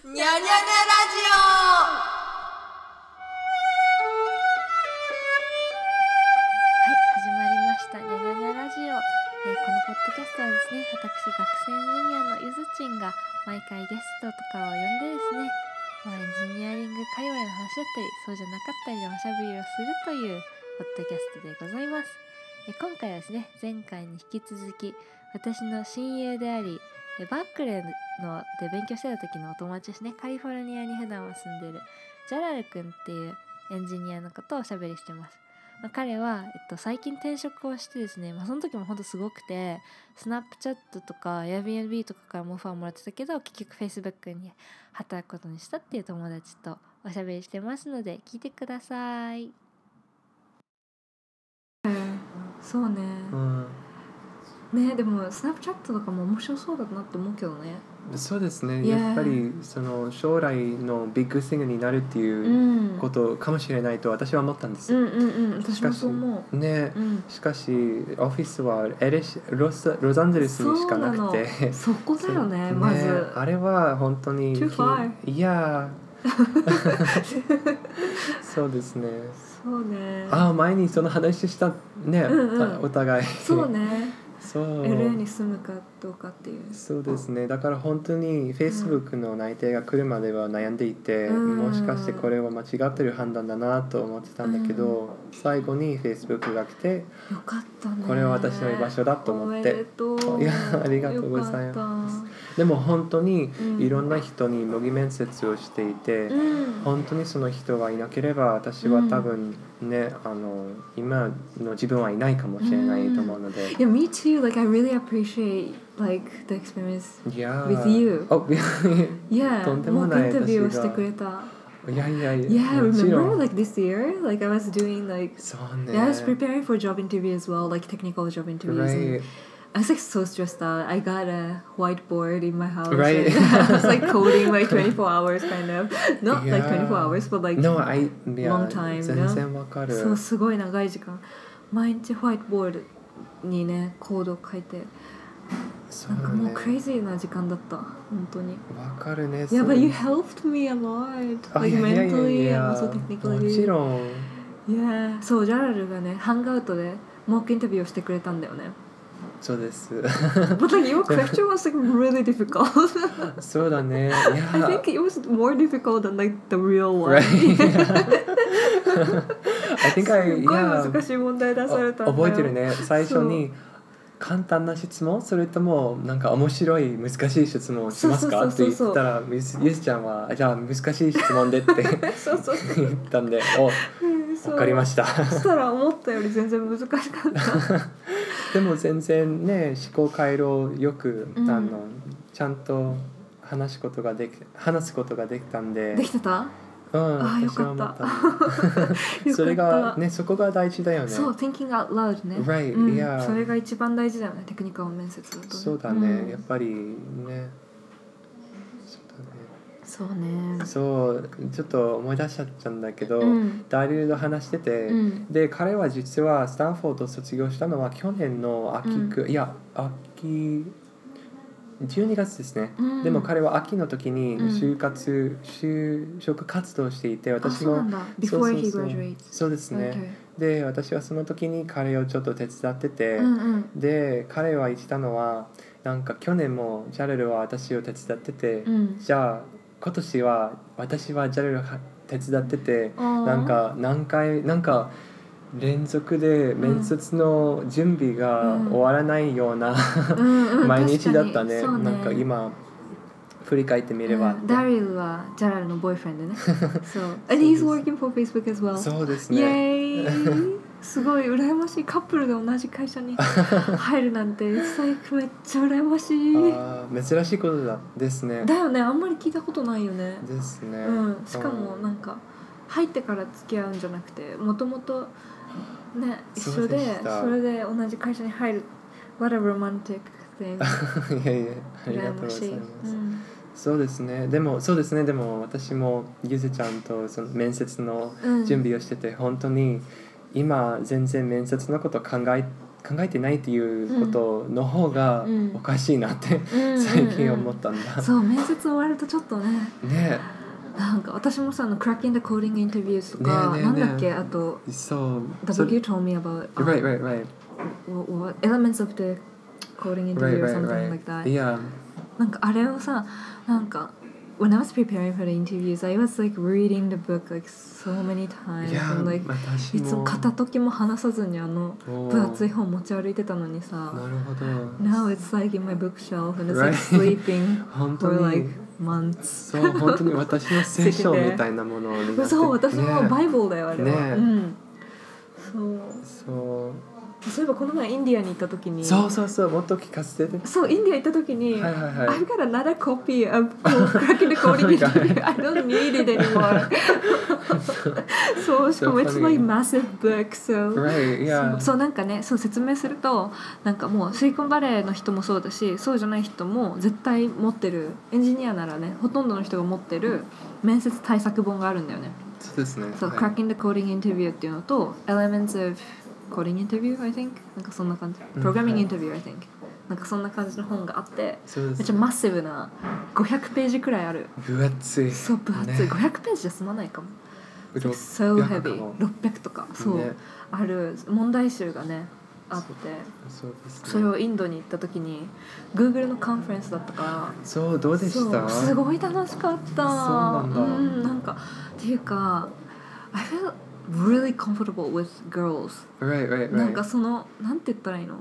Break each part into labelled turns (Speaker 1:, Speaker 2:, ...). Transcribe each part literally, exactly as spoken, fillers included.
Speaker 1: にゃにゃにゃラジオ。
Speaker 2: はい、始まりましたにゃにゃにゃラジオ、えー、このポッドキャストはですね、私学生エンジニアのゆずちんが毎回ゲストとかを呼んでですね、まあ、エンジニアリング界隈の話だったりそうじゃなかったりのおしゃべりをするというポッドキャストでございます。えー、今回はですね、前回に引き続き私の親友でありバークレーので勉強してた時のお友達ですね、カリフォルニアに普段は住んでるジャラル君っていうエンジニアのことをおしゃべりしてます。まあ、彼は、えっと、最近転職をしてですね、まあ、その時も本当すごくて、スナップチャットとか Airbnb とかからもオファーもらってたけど、結局 Facebook に働くことにしたっていう友達とおしゃべりしてますので聞いてください。そうね、
Speaker 3: うん
Speaker 2: ね、でもスナップチャットとかも面白そうだなって思うけどね。
Speaker 3: そうですね、
Speaker 2: Yeah.
Speaker 3: やっぱりその将来のビッグシングになるっていうことかもしれないと私は思ったんです。
Speaker 2: うんうんうん、私もそう思う。
Speaker 3: ね、
Speaker 2: うん、
Speaker 3: しかしオフィスはエレシロスロサンゼルスにしかなくて、
Speaker 2: そこだよね、まず、
Speaker 3: ね、あれは本当に
Speaker 2: Too far.
Speaker 3: いやそうですね。
Speaker 2: そうね。
Speaker 3: あ、前にその話したね、
Speaker 2: うんうん、
Speaker 3: お互い。
Speaker 2: そうね。
Speaker 3: そう
Speaker 2: エルエー に住むかどうかっていう。
Speaker 3: そうですね。だから本当に Facebook の内定が来るまでは悩んでいて、うん、もしかしてこれは間違ってる判断だなと思ってたんだけど、うん、最後に Facebook が来て、
Speaker 2: よかったね、
Speaker 3: これは私の居場所だと思って。おめでとう。いや、ありがとうございます。でも本当にいろんな人に模擬面接をしていて、うん、本当にその人がいなければ私は多分ね、うん、あの今の自分はいないかもしれないと思うので。
Speaker 2: Yeah, me too. Like I really appreciate like the experience
Speaker 3: yeah.
Speaker 2: with you.
Speaker 3: Oh,
Speaker 2: yeah.
Speaker 3: とんでもない。
Speaker 2: モークインタビューをしてくれた。
Speaker 3: いやいやいや。
Speaker 2: Yeah, remember like this year? Like I was doing like,
Speaker 3: そうね。
Speaker 2: Yeah, I was preparing for job interview as well, like technical job interviews.
Speaker 3: Right.
Speaker 2: I was like so stressed out. I got a whiteboard in my house.
Speaker 3: Right.
Speaker 2: I was like coding like twenty-four hours kind of. Not
Speaker 3: yeah.
Speaker 2: like twenty-four hours, but like
Speaker 3: no, I, yeah,
Speaker 2: long time.
Speaker 3: 全然わかる。
Speaker 2: そう、すごい長い時間。毎日ホワイトボードにね、コードを書いて。なんかもうクレイジーな時間だった本当に。
Speaker 3: わかるね。
Speaker 2: Yeah, but you helped me a lot, like mentally and also technically.
Speaker 3: もちろん。
Speaker 2: Yeah, そうジャラルがね、ハンガウトでモークインタビューをしてくれたんだよね。
Speaker 3: そうです。
Speaker 2: But like your question was like really difficult.
Speaker 3: そうだね。
Speaker 2: Yeah. I think it was more difficult than like the real one.
Speaker 3: Right. I think I
Speaker 2: すごい難しい問題出されたんだよ。
Speaker 3: 覚えてるね。最初に。簡単な質問それともなんか面白い難しい質問をしますかって言ったらゆずちゃんはじゃあ難しい質問でって
Speaker 2: そうそう
Speaker 3: 言ったんでお分かりました。
Speaker 2: そしたら思ったより全然難しかった
Speaker 3: でも全然ね思考回路よく、うん、あのちゃんと話すことができ話すことができたんで
Speaker 2: できてた
Speaker 3: うん、
Speaker 2: ああよかった。
Speaker 3: それがねそこが大事だよね。
Speaker 2: そう thinking out loud ね。
Speaker 3: Right、
Speaker 2: うん、
Speaker 3: yeah.
Speaker 2: それが一番大事だよねテクニカル面接だと、ね。
Speaker 3: そうだね、うん、やっぱりね。
Speaker 2: そうだね。
Speaker 3: そうちょっと思い出しちゃったんだけど、うん、ダリルと話してて、うん、で彼は実はスタンフォードを卒業したのは去年の秋、うん、いや秋じゅうにがつですね、うん、でも彼は秋の時に就活、うん、就職活動していて私も
Speaker 2: そうそうそう
Speaker 3: そうですね、okay. で私はその時に彼をちょっと手伝ってて、うんうん、で彼は言ってたのはなんか去年もジャレルは私を手伝ってて、うん、じゃあ今年は私はジャレルを手伝っててなんか何回なんか連続で面接の準備が終わらないような、うん、毎日だったね。うんうん、なんか今振り返ってみれば、うん、
Speaker 2: ダリルはジャラルのボーイフレンドね。そう。And he's working for Facebook as well.
Speaker 3: そうですね。
Speaker 2: イエーイすごい羨ましい。カップルで同じ会社に入るなんて最高めっちゃ羨ましい。
Speaker 3: あ珍しいことだですね。
Speaker 2: だよね。あんまり聞いたことないよね。
Speaker 3: ですね。
Speaker 2: うん。しかもなんか入ってから付き合うんじゃなくて、もともとね、一緒で そ, それで同じ会社に入る What a romantic thing
Speaker 3: いやいやありがとうございます、うん、そうですねでもそうですねでも私もゆずちゃんとその面接の準備をしてて、うん、本当に今全然面接のこと考え考えてないっていうことの方がおかしいなって、うん、最近思ったんだ、うんうんうん、
Speaker 2: そう面接終わるとちょっとね
Speaker 3: ね
Speaker 2: なんか私もさあの Cracking the Coding Interviews とか、ねねね、なんだっけあと
Speaker 3: So
Speaker 2: W you told me about
Speaker 3: right right right
Speaker 2: what, what elements of the coding interview
Speaker 3: right,
Speaker 2: or
Speaker 3: right,
Speaker 2: something
Speaker 3: right.
Speaker 2: like that
Speaker 3: yeah
Speaker 2: なんかあれをさなんかwhen I was preparing for the interviews, I was like reading the book like so many times.
Speaker 3: Yeah,
Speaker 2: and, like, いつも片時も話さずにあの分厚い本持ち歩いてたのにさ。
Speaker 3: なるほど。
Speaker 2: Now it's like in my bookshelf and it's like sleeping for like months.
Speaker 3: そう、本当に私の聖書みたいなものになって。
Speaker 2: そう、私のバイブルだよ、あれは。
Speaker 3: ね、
Speaker 2: うん。そう。
Speaker 3: そう。
Speaker 2: そういえばこの前インディアに行った時に
Speaker 3: そうそうそうもっと聞かせて
Speaker 2: そうインディア行った時に、
Speaker 3: はいはいはい、
Speaker 2: I've got another copy of Cracking the Coding Interview I don't need it anymore そうしかも it's like massive book so、
Speaker 3: right, yeah.
Speaker 2: そう、そうなんかねそう説明するとなんかもうシリコンバレーの人もそうだしそうじゃない人も絶対持ってるエンジニアならねほとんどの人が持ってる面接対策本があるんだよね
Speaker 3: そうですね
Speaker 2: そう、はい、Cracking the Coding Interview っていうのと Elements of Coding Interview I think なんかそんな感じ Programming Interview I think なんかそんな感じの本があって、
Speaker 3: そうですね、
Speaker 2: めっちゃマッシブなごひゃくページくらいある
Speaker 3: 分厚い
Speaker 2: そう分厚い、ね、ごひゃくページじゃ済まないかも So heavy ろっぴゃくとかそう、ね、ある問題集がねあって
Speaker 3: そ, そうですね、
Speaker 2: それをインドに行った時に Google のカンファレンスだったから
Speaker 3: そうどうでした
Speaker 2: すごい楽しかったそう
Speaker 3: なんだ、うん、
Speaker 2: なんかっていうか I feel really comfortable with girls
Speaker 3: right, right, right.
Speaker 2: なんかそのなんて言ったらいいの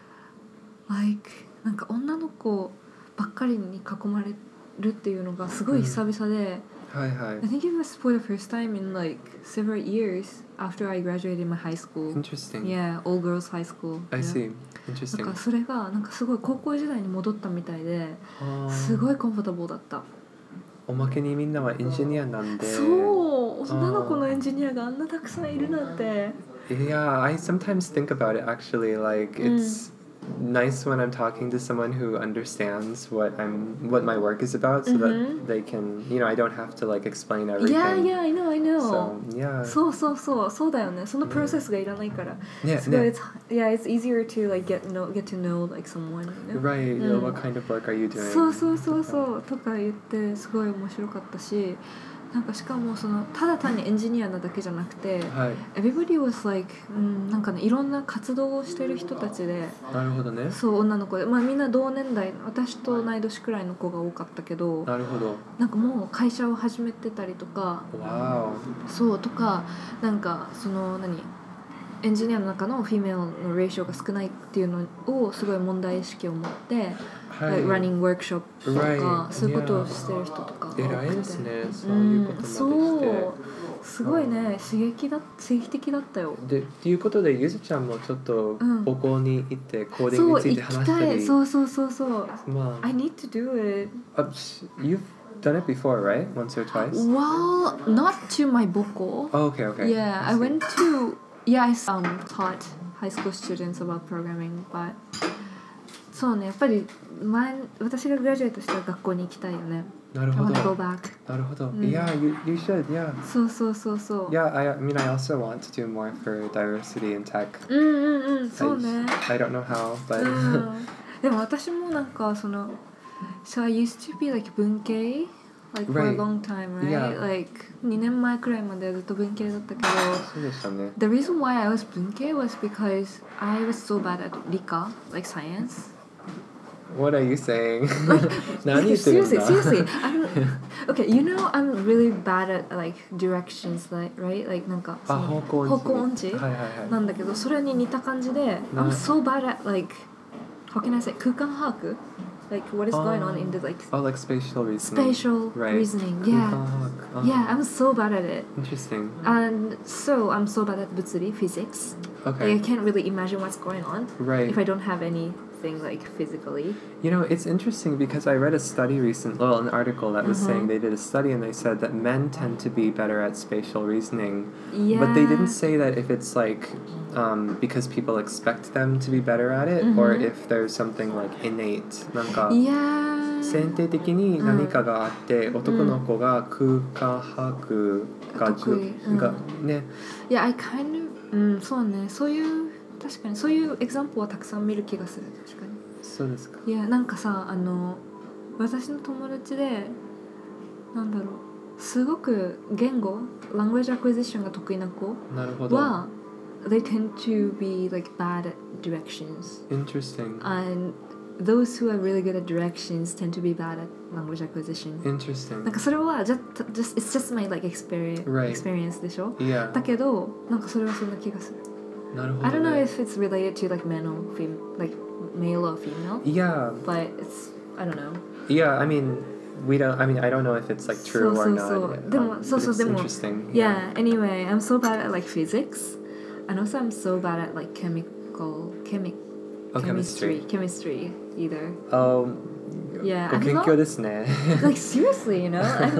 Speaker 2: like なんか女の子ばっかりに囲まれるっていうのがすごい久々で、
Speaker 3: うん、はいはい
Speaker 2: I think it was for the first time in like several years after I graduated my high school
Speaker 3: Interesting
Speaker 2: Yeah, all girls high school
Speaker 3: I see Interesting
Speaker 2: なんかそれがなんかすごい高校時代に戻ったみたいですごいコンフォータブルだった
Speaker 3: おまけにみんなはエンジニアなんで
Speaker 2: そう女の子のエンジニアがあんなたくさんいるなんて
Speaker 3: Yeah, I sometimes think about it actually like it's、うん、nice when I'm talking to someone who understands what I'm what my work is about so、mm-hmm. that they can you know I don't have to like explain everything
Speaker 2: Yeah, yeah, I know, I know
Speaker 3: so, yeah.
Speaker 2: そうそうそうそうだよねそのプロセスがいらないから、
Speaker 3: ね、
Speaker 2: すごい、
Speaker 3: ね
Speaker 2: it's, yeah, it's easier to like get, know, get to know like someone you know?
Speaker 3: Right, mm. what kind of work are you doing?
Speaker 2: そうそうそうそうとか言ってすごい面白かったしなんかしかもそのただ単にエンジニアなだけじゃなくて、
Speaker 3: はい、
Speaker 2: Everybody was like、うん、なんかねいろんな活動をしてる人たちで
Speaker 3: なるほどね
Speaker 2: そう女の子で、まあ、みんな同年代私と同い年くらいの子が多かったけど
Speaker 3: なるほど
Speaker 2: なんかもう会社を始めてたりとか
Speaker 3: わ
Speaker 2: そうとかなんかその何エンジニアの中のフィメルのレーションが少ないっていうのをすごい問題意識を持ってはい、like running workshop とか、right. そういうことをしてる人とか
Speaker 3: 偉いですねそういうことまでして、うん、
Speaker 2: そうすごいね刺激だ刺激的だったよ
Speaker 3: でっていうことでゆずちゃんもちょっと母校に行ってコーディングについて話したり、
Speaker 2: うん、そうそうそうそうそう、
Speaker 3: まあ、
Speaker 2: I need to do it
Speaker 3: You've done it before, right? Once or twice?
Speaker 2: Well, not to my 母校
Speaker 3: Oh, okay, okay.
Speaker 2: Yeah, I, I went to Yeah, I um, taught high school students about programming but そうねやっぱり前私がグラジュエートしたら学校に行きたいよね
Speaker 3: なるほど
Speaker 2: I wanna go back
Speaker 3: なるほど、うん、Yeah, you, you should, yeah
Speaker 2: そうそうそうそう
Speaker 3: Yeah, I, I mean I also want to do more for diversity in tech
Speaker 2: うんうんうんそうね
Speaker 3: I, I don't know how, but、うん、
Speaker 2: でも私もなんかその So I used to be like 文系Like for a long time, right?
Speaker 3: Yeah.
Speaker 2: Like にねんまえくらいまでずっと文系だったけど
Speaker 3: そうでしたね
Speaker 2: The reason why I was 文系 was because I was so bad at 理科 like science
Speaker 3: What are you saying?
Speaker 2: Like,
Speaker 3: 何言ってるんだ
Speaker 2: seriously, seriously I'm, Okay, you know I'm really bad at like directions, like, right? Like なんかその
Speaker 3: 方向
Speaker 2: 方向音痴、
Speaker 3: はいはいはい、
Speaker 2: なんだけどそれに似た感じで I'm so bad at like How can I say? 空間把握Like what is going on in the like
Speaker 3: Oh like spatial reasoning
Speaker 2: Spatial
Speaker 3: right.
Speaker 2: reasoning Yeah
Speaker 3: uh-huh.
Speaker 2: Yeah I'm so bad at it
Speaker 3: Interesting
Speaker 2: And so I'm so bad at 物理 physics
Speaker 3: Okay
Speaker 2: like, I can't really imagine what's going on
Speaker 3: Right
Speaker 2: If I don't have anything like physically
Speaker 3: You know it's interesting because I read a study recently Well an article that was
Speaker 2: uh-huh.
Speaker 3: saying They did a study and they said that men tend to be better at spatial reasoning
Speaker 2: Yeah
Speaker 3: But they didn't say that if it's like Um, because people expect them to be better at it、mm-hmm. or if there's something like innate なんか、
Speaker 2: yeah.
Speaker 3: 先天的に何かがあって、うん、男の子が空間把握が、
Speaker 2: 得意、うん、
Speaker 3: がね
Speaker 2: Yeah, I kind of、うん、そうねそういう確かにそういうエグザンプルはたくさん見る気がする。確かに。
Speaker 3: そうですか。
Speaker 2: いやなんかさあの私の友達でなんだろうすごく言語 language acquisition が得意な子
Speaker 3: なるほど
Speaker 2: は they tend to be like bad at directions.
Speaker 3: Interesting.
Speaker 2: And those who are really good at directions tend to be bad at language acquisition.
Speaker 3: Interesting.
Speaker 2: なんかそれは just, just it's just my like experience,
Speaker 3: Right.
Speaker 2: experience でしょ
Speaker 3: Yeah.
Speaker 2: だけどなんかそれはそんな気がする。
Speaker 3: なるほど、ね。
Speaker 2: I don't know if it's related to like male or female, like male or female.
Speaker 3: Yeah.
Speaker 2: But it's I don't know.
Speaker 3: Yeah, I mean, we don't. I mean, I don't know if it's like true or not.
Speaker 2: そうそうそう。でも、そうそうでも。Yeah. Anyway, I'm so bad at like physics, and also I'm so bad at like chemical, chemi,
Speaker 3: oh,
Speaker 2: chemistry, chemistry either.
Speaker 3: Um.
Speaker 2: Yeah.
Speaker 3: ご研究ですね。
Speaker 2: Like seriously, you know, I'm,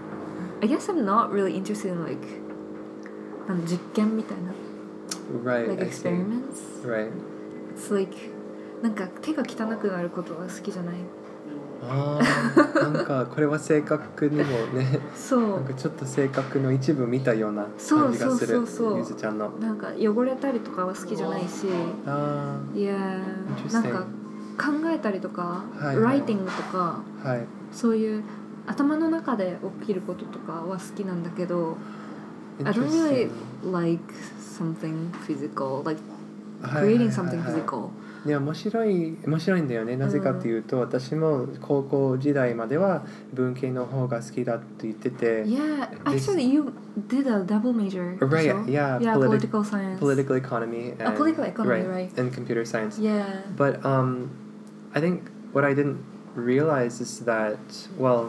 Speaker 2: I guess I'm not really interested in like なん実験みたいな。
Speaker 3: Right.
Speaker 2: Like experiments.
Speaker 3: Right.
Speaker 2: It's like なんか手が汚くなることが好きじゃない。
Speaker 3: ああ、なんかこれは性格にもね、
Speaker 2: そう
Speaker 3: なんかちょっと性格の一部見たような感じがする。
Speaker 2: そうそうそうそう
Speaker 3: ゆずちゃんの。
Speaker 2: なんか汚れたりとかは好きじゃないし、
Speaker 3: あ
Speaker 2: いやなんか考えたりとか、
Speaker 3: はいはい、
Speaker 2: ライティングとか、
Speaker 3: はい、
Speaker 2: そういう頭の中で起きることとかは好きなんだけど、I don't really like something physical, like creating something physical.
Speaker 3: いや面白い面白いんだよね。なぜかというと、うん、私も高校時代までは文系の方が好きだって言ってて。
Speaker 2: Yeah, actually you did a double major.
Speaker 3: Right, yeah,
Speaker 2: yeah,
Speaker 3: politi-
Speaker 2: political science,
Speaker 3: political economy, and,
Speaker 2: oh, political economy, right,
Speaker 3: right, and computer science.
Speaker 2: Yeah.
Speaker 3: But um, I think what I didn't realize is that well,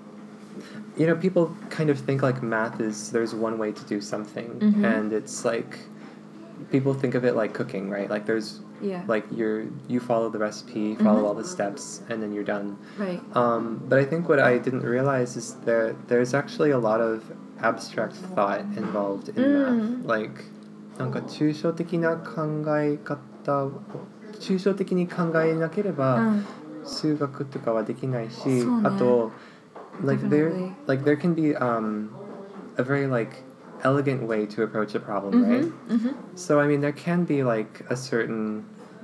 Speaker 3: you know, people kind of think like math is there's one way to do something, mm-hmm. and it's like people think of it like cooking, right? Like there's
Speaker 2: yeah.
Speaker 3: like you're you follow the recipe, follow mm-hmm. all the steps, and then you're done.
Speaker 2: Right.
Speaker 3: Um, but I think what I didn't realize is that there's actually a lot of abstract thought involved in mm. math. Like なんか抽象的な考え方を抽象的に考えなければ、うん、数学とかはできないし、ね、あと like there like there can be um a very like elegant way to approach a problem, mm-hmm, right? Mm-hmm. So I mean there can be like a certain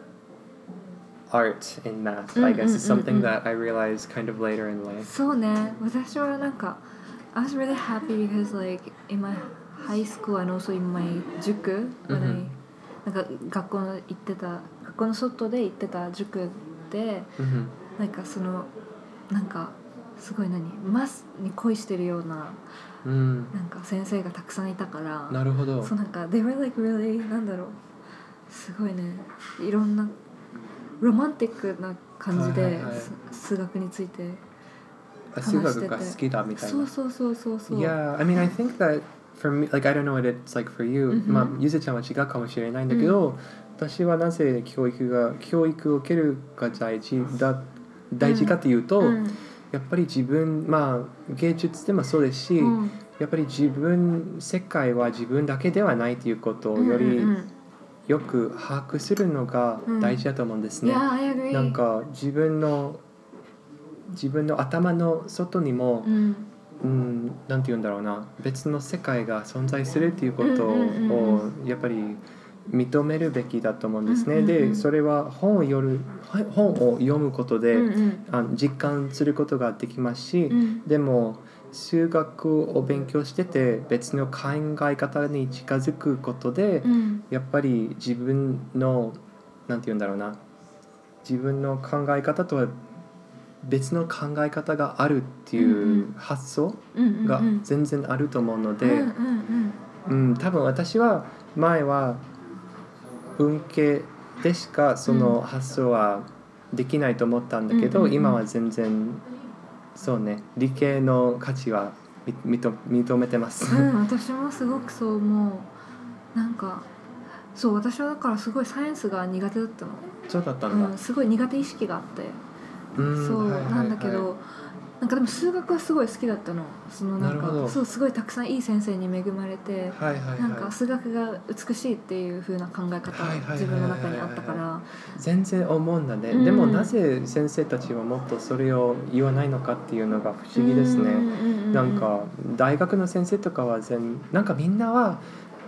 Speaker 3: art in math, mm-hmm, I guess is something mm-hmm. that I realized kind of later in life.
Speaker 2: そうね、私はなんか I was really happy because like in my high school and also in my 塾 when I、mm-hmm. なんか学校の行ってた学校の外で行ってた塾で、mm-hmm. なんかそのなんかすごい何マスに恋してるような
Speaker 3: うん、
Speaker 2: なんか先生がたくさんいたから
Speaker 3: なるほど
Speaker 2: そうなんか they were like really なんだろうすごいねいろんなロマンティックな感じで、はいはいはい、数学について話してて
Speaker 3: 数学が好きだみたいな
Speaker 2: そうそうそうそうそう
Speaker 3: Yeah, I mean I think that for me like I don't know what it's like for you、mm-hmm. まあゆずちゃんは違うかもしれないんだけど、うん、私はなぜ教育が教育を受けるが大事だ大事かというと、うんうんやっぱり自分まあ芸術でもそうですし、うん、やっぱり自分世界は自分だけではないということをよりよく把握するのが大事だと思うんですね。
Speaker 2: うん、
Speaker 3: なんか自分の自分の頭の外にも、うんうん、なんて言うんだろうな別の世界が存在するということをやっぱり認めるべきだと思うんですね、うんうんうん、でそれは本を読む本を読むことで、うんうん、あの実感することができますし、うん、でも数学を勉強してて別の考え方に近づくことで、うん、やっぱり自分のなんて言うんだろうな自分の考え方とは別の考え方があるっていう発想が全然あると思うので、うんうんうんうん、多分私は前は文系でしかその発想はできないと思ったんだけど、うんうんうん、今は全然そうね理系の価値は認めてます、
Speaker 2: うん、私もすごくそう思うなんかそう私はだからすごいサイエンスが苦手だったの
Speaker 3: そうだったんだ、
Speaker 2: うん、すごい苦手意識があってうんそう、はいはいはい、なんだけどなんかでも数学はすごい好きだったのそのなんかそうすごいたくさんいい先生に恵まれて、はいはいはい、なんか数学が美しいっていう風な考え方が自分の中にあったから、はいはいはいはい、
Speaker 3: 全然思うんだね、うん、でもなぜ先生たちはもっとそれを言わないのかっていうのが不思議ですね、うんうんうんうん、なんか大学の先生とかは全なんかみんなは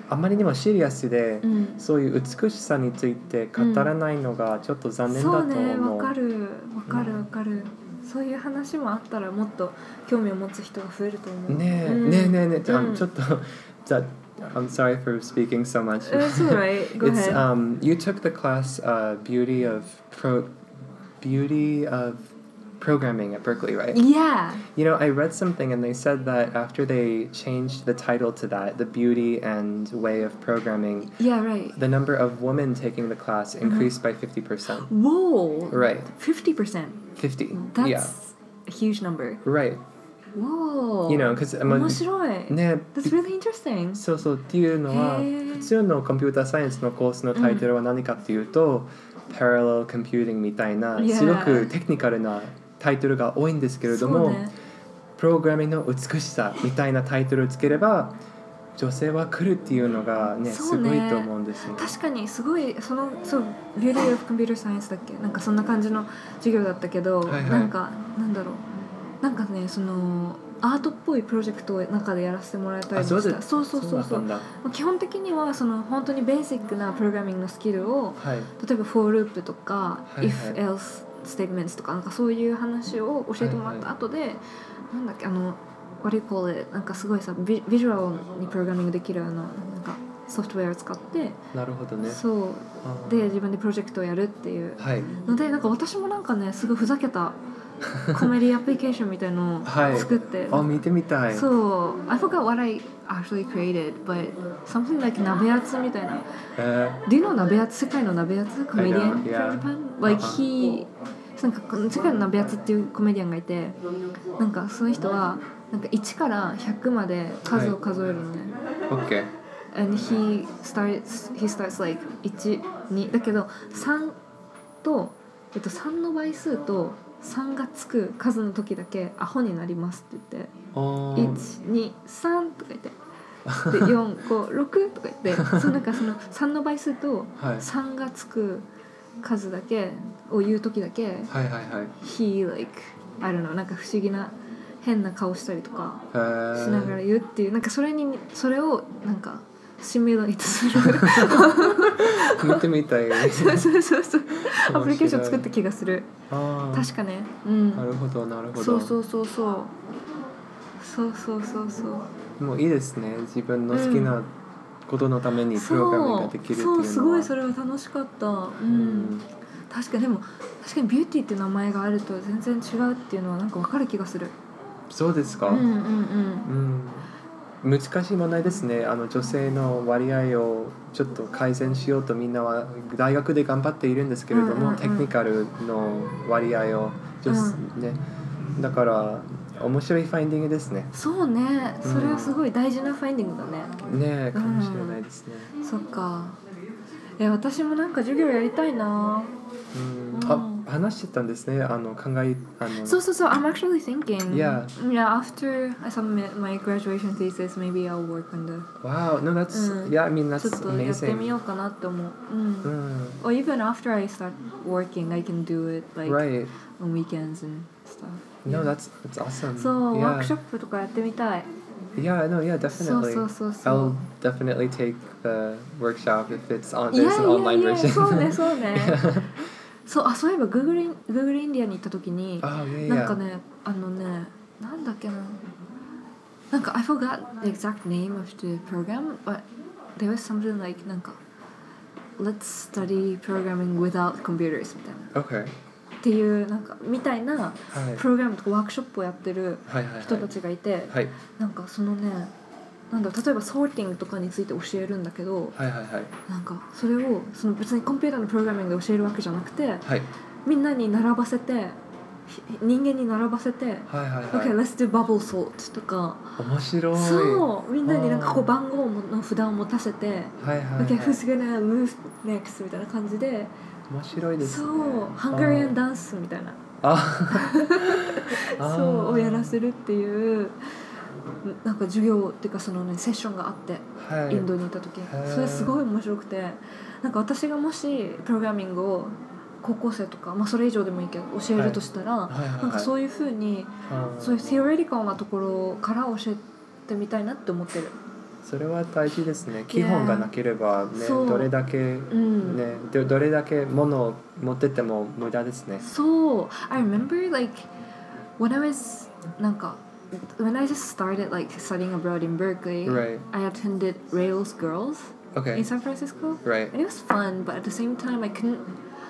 Speaker 3: あまりにもシリアスで、
Speaker 2: うん、
Speaker 3: そういう美しさについて語らないのがちょっと残念だと思う。
Speaker 2: そうね、わかるわかるわかる、うん、そういう話もあったらもっと興味を持つ人が増えると思う。
Speaker 3: ねえ、うん、ねえねえねえ、うん、ちょっとじゃI'm sorry for speaking so much.
Speaker 2: It's alright. Go
Speaker 3: It's
Speaker 2: ahead.
Speaker 3: um you took the class uh beauty of pro beauty of programming at Berkeley, right?
Speaker 2: Yeah.
Speaker 3: You know, I read something and they said that after they changed the title to that, the beauty and way of programming.
Speaker 2: Yeah, right.
Speaker 3: The number of women taking the class increased mm-hmm. by fifty percent.
Speaker 2: Whoa.
Speaker 3: Right.
Speaker 2: fifty percent.
Speaker 3: fifty.
Speaker 2: That's
Speaker 3: yeah.
Speaker 2: a huge number.
Speaker 3: Right.Whoa. You know, because
Speaker 2: 面白い。
Speaker 3: ね、
Speaker 2: That's really interesting.
Speaker 3: そうそうっていうのは普通のコンピューターサイエンスのコースのタイトルは何かっていうと、うん、Parallel Computing みたいなすごくテクニカルなタイトルが多いんですけれども、ね、プログラミングの美しさみたいなタイトルをつければ女性は来るっていうのがね、すごいと思うんですね。
Speaker 2: 確かにすごいそのそう Beauty of Computer Science だっけ、なんかそんな感じの授業だったけど、はいはい、なんかなんだろう、なんかねそのアートっぽいプロジェクトを中でやらせてもらえたりもした。そうそうそうそう。基本的にはその本当にベーシックなプログラミングのスキルを、はい、例えば for loop とか、はいはい、if else statements とかなんかそういう話を教えてもらった後で、はいはい、なんだっけあの what do you call it なんかすごいさビジュアルにプログラミングできるあのなんかソフトウェアを使って、
Speaker 3: なるほどね。
Speaker 2: そうで自分でプロジェクトをやるっていうので、はい、なんか私もなんかねすごいふざけたコメディアプリケーションみたいのを作って、
Speaker 3: はい、あ見てみたい。
Speaker 2: そう I forgot what I actually created but something like 鍋やつみたいな、uh, Do you know 鍋やつ、世界の鍋やつコメディアン from Japan like he なんか世界の鍋やつっていうコメディアンがいて、なんかその人はなんかいちからひゃくまで数を数えるのね、
Speaker 3: はい、OK
Speaker 2: and he starts he starts like いち、にだけどさんと、えっと、さんの倍数とさんがつく数の時だけアホになりますって言っていち、に、さんとか言ってでよん、ご、ろくとか言ってそのなんかそのさんの倍数とさんがつく数だけを言う時だけ、はい
Speaker 3: はいはい、
Speaker 2: he like I don't know なんか不思議な変な顔したりとかしながら言うっていう、なんかそれにそれをなんかシミュレートする
Speaker 3: 見てみたい
Speaker 2: そうそうそうそうアプリケーション作った気がする。あ確かね、うん、
Speaker 3: なるほどなるほど。
Speaker 2: そうそうそうそうそうそうそうそう
Speaker 3: もういいですね、自分の好きなことのためにプログラミングができるっていうのは、
Speaker 2: そう、そうすごいそれは楽しかった、うんうん、確かでも確かにビューティーっていう名前があると全然違うっていうのはなんか分かる気がする。
Speaker 3: そうですか。
Speaker 2: うんうんうん、
Speaker 3: うん、難しい問題ですね。あの女性の割合をちょっと改善しようとみんなは大学で頑張っているんですけれども、うんうんうん、テクニカルの割合を女、うんね、だから面白いファインディングですね。
Speaker 2: そうね、それはすごい大事なファインディングだね。
Speaker 3: ねえ、かもしれないですね。
Speaker 2: うん、そっか。え、私もなんか授業やりたいな。
Speaker 3: うん、あ、話してたんですね。あの考えあの。
Speaker 2: そうそうそう。I'm actually thinking.
Speaker 3: Yeah.
Speaker 2: Yeah. After I submit my graduation thesis, maybe I'll work on the.
Speaker 3: Wow. No, that's、うん、yeah. I mean, that's amazing.
Speaker 2: ちょっとやってみようかなって思う。うん。うん、Or even after I start working, I can do it like
Speaker 3: right.
Speaker 2: on weekends and stuff.
Speaker 3: No, that's that's awesome.
Speaker 2: そう、ワークショップとかやってみたい。
Speaker 3: Yeah, no, yeah, definitely.
Speaker 2: そうそうそうそう。
Speaker 3: I'll definitely take the workshop if it's on there's an online version.
Speaker 2: そうねそうね。そう、あ、そういえば Google Google India に行った時に、
Speaker 3: oh, yeah,
Speaker 2: なんかね、あのね、なんだっけな、なんか I forgot the exact name of the program, but there was something like なんか Let's study programming without computers みたいな。
Speaker 3: Okay.
Speaker 2: っていうなんかみたいなプログラムとかワークショップをやってる人たちがいて、はいはいはい、なんかそのね、なんだ例えばソーティングとかについて教えるんだけど、
Speaker 3: はいはいはい、
Speaker 2: なんかそれをその別にコンピューターのプログラミングで教えるわけじゃなくて、
Speaker 3: はい、
Speaker 2: みんなに並ばせて人間に並ばせて、はいはいはい、OK, let's do bubble sort とか、
Speaker 3: 面白い。
Speaker 2: そうみんなになんかこう番号の札を持たせて、はいはいはい、OK, who's gonna move next みたいな感じで。
Speaker 3: 面白いですね。
Speaker 2: そう、ハンガリアンダンスみたいな
Speaker 3: あ
Speaker 2: そうをやらせるっていうなんか授業っていうかそのねセッションがあって、はい、インドにいた時、それすごい面白くて、なんか私がもしプログラミングを高校生とか、まあ、それ以上でもいいけど教えるとしたら、はいはいはいはい、なんかそういう風にそういうテオレティカルなところから教えてみたいなって思ってる。
Speaker 3: それは大事ですね。基本がなければね、
Speaker 2: そう
Speaker 3: どれだけ、
Speaker 2: うん、
Speaker 3: ね、どどれだけ物を持ってても無駄ですね。
Speaker 2: そう I remember like when I was なんか when I just started like studying abroad in Berkeley
Speaker 3: Right.
Speaker 2: I attended Rails Girls
Speaker 3: Okay.
Speaker 2: in San Francisco
Speaker 3: Right.
Speaker 2: and it was fun but at the same time I couldn't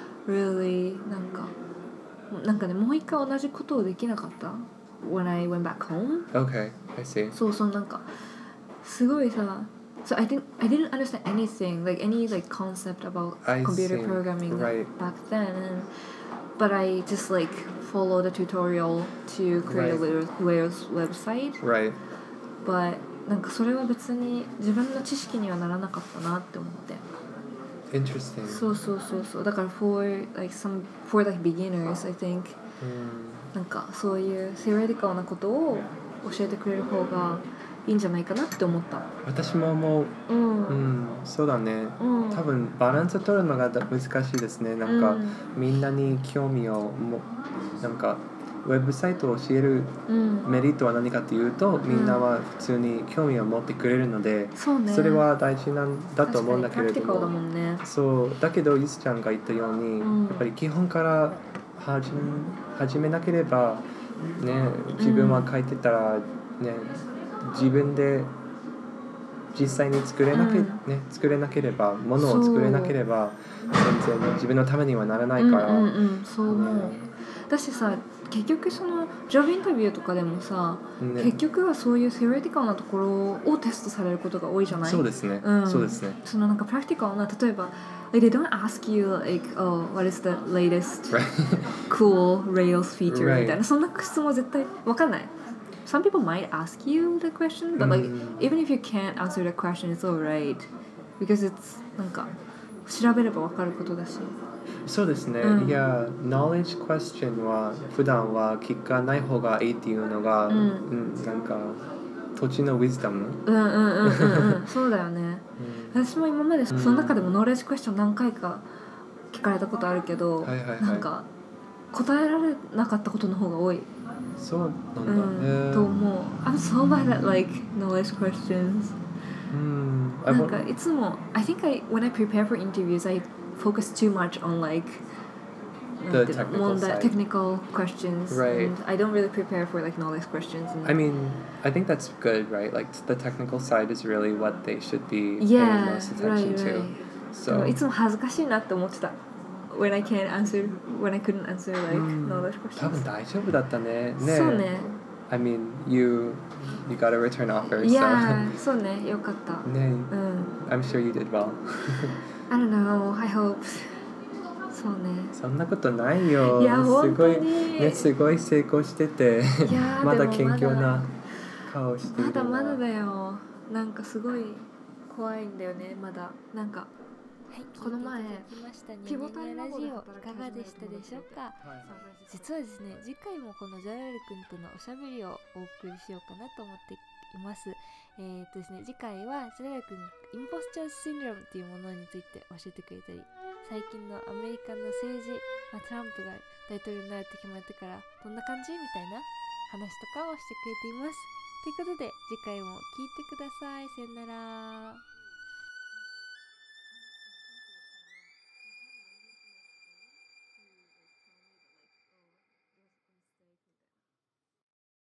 Speaker 2: really なんかなんかねもう一回同じことをできなかった when I went back home
Speaker 3: Okay. I see.
Speaker 2: そうそうなんかすごいさ So I didn't I didn't understand anything like any like concept about
Speaker 3: I
Speaker 2: computer
Speaker 3: see.
Speaker 2: programming
Speaker 3: Right.
Speaker 2: back then and, but I just like followed a tutorial to create
Speaker 3: Right.
Speaker 2: a Rails website
Speaker 3: Right.
Speaker 2: but なんかそれは別に自分の知識にはならなかったなって思って
Speaker 3: Interesting.
Speaker 2: そうそうそうそうだから for like some for like beginners I think
Speaker 3: うん
Speaker 2: なんかそういうセオリティカルなことを教えてくれる方がいいんじゃないかなって思った。
Speaker 3: 私も思う。
Speaker 2: うん。
Speaker 3: うん、そうだね。
Speaker 2: うん、
Speaker 3: 多分バランス取るのが難しいですね。なんか、うん、みんなに興味をもなんかウェブサイトを教えるメリットは何かというと、うん、みんなは普通に興味を持ってくれるので、うん、それは大事なんだと思うんだけれども、
Speaker 2: だもんね、
Speaker 3: そうだけどゆずちゃんが言ったように、うん、やっぱり基本から始め、始めなければね、自分は書いてたらね、自分で実際に作れなけ、うんね、作れなければものを作れなければ全然自分のためにはならないから、
Speaker 2: うんうんうん、そう思う、ね、だしさ結局そのジョブインタビューとかでもさ、ね、結局はそういうセオリティカルなところをテストされることが多いじゃない？
Speaker 3: そうですね、うん、そうですね。
Speaker 2: そのなんかプラクティカルな例えば like they don't ask you like oh what is the latest cool Rails feature、right. みたいなそんな質問絶対わかんない。Some people might ask you the question, but like mm. even if you can't answer the question, it's alright because it's なんか調べればわかることだし。
Speaker 3: そうですね。うん、いや、knowledge question は普段は聞かない方がいいっていうのが、うん、うん、なんか土地の wisdom。
Speaker 2: うんうんうんうんうん。そうだよね。うん、私も今までその中でも knowledge question 何回か聞かれたことあるけど、はいはいはい、なんか答えられなかったことの方が多い。
Speaker 3: そうなんだ、
Speaker 2: うん、と思う。I'm so bad at like knowledge questions. うん、なんかいつも I think I when I prepare for interviews I focus too much on like
Speaker 3: the technical side.
Speaker 2: technical questions,
Speaker 3: right.
Speaker 2: and I don't really prepare for like knowledge questions. And
Speaker 3: I mean, I think that's good, right? Like the technical side is really what they should be
Speaker 2: yeah,
Speaker 3: paying most attention
Speaker 2: right,
Speaker 3: to.
Speaker 2: Right.
Speaker 3: So
Speaker 2: いつも恥ずかしいなって思ってた。When I can't answer, when I couldn't answer like knowledge questions.
Speaker 3: 多分大丈夫だったね。ね。
Speaker 2: そうね。
Speaker 3: I mean, you you got a return offer,
Speaker 2: yeah,
Speaker 3: so.
Speaker 2: そうね、よかった。
Speaker 3: ね、うん。I'm sure you did well.
Speaker 2: I don't know. I hope. そうね。
Speaker 3: そんなことないよ。
Speaker 2: いや
Speaker 3: すごいね、すごい成功してて、
Speaker 2: いや
Speaker 3: まだ謙虚な顔してる。
Speaker 2: まだまだだよ。なんかすごい怖いんだよね。まだなんか。はい、この前ピボタルラジオいかがでしたでしょうか、はい、実はですね次回もこのジャラル君とのおしゃべりをお送りしようかなと思っています。えーっとですね次回はジャラル君インポスチャーシンドロームっていうものについて教えてくれたり最近のアメリカの政治、まあ、トランプが大統領になるって決まってからどんな感じみたいな話とかをしてくれています。ということで次回も聞いてください。さよなら。